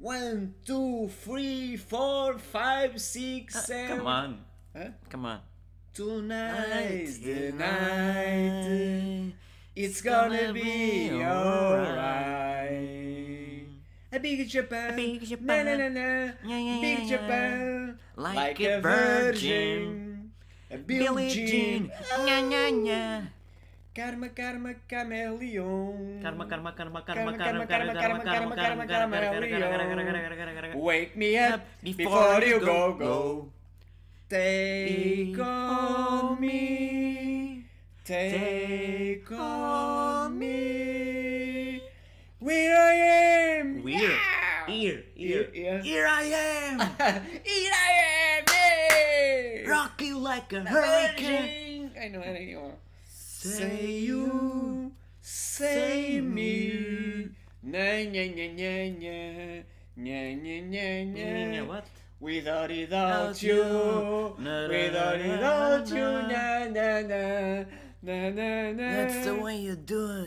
1, 2, 3, 4, 5, 6, 7. Come on. Huh? Come on. Tonight's the night. It's gonna be alright. A big Japan. A big Japan. Na, na, na, na. Yeah, Big yeah. Japan. Like a virgin. A Billie Jean. Nha, nha, nha. Karma, karma, chameleon. Karma. Wake me up before you go. Take on me. Take on me. Where I am. Here I am. Here I am. Yeah. Rock you like a hurricane. I know anymore. Say you, say me. Na na na na na na na na. What? Without you, without you, na na na na na na. That's the way you do it.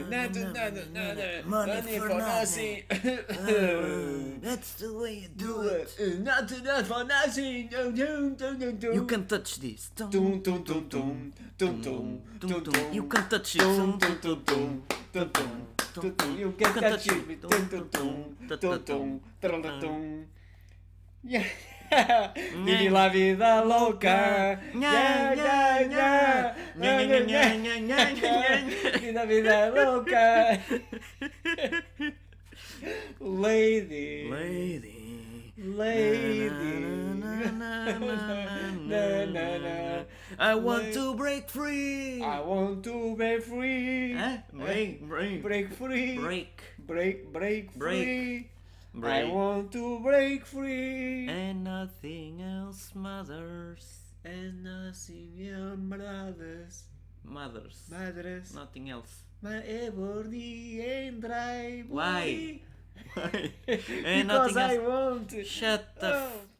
Money for nothing. That's the way you do it. Not for nothing. You can touch this. Tum tum tum tum tum tum tum tum. You can touch it. Tum tum tum tum tum tum tum. You can touch it. Tum tum tum tum tum tum tum. Yeah. Vive la vida loca. Yeah, yeah, yeah. Vive la vida loca. Lady. I want to break free. I want to be free. Huh? Break free. Break. I want to break free. And nothing else matters. And nothing else Mothers. matters. Nothing else. My every and dry. Why? And Because nothing I else. want. Shut the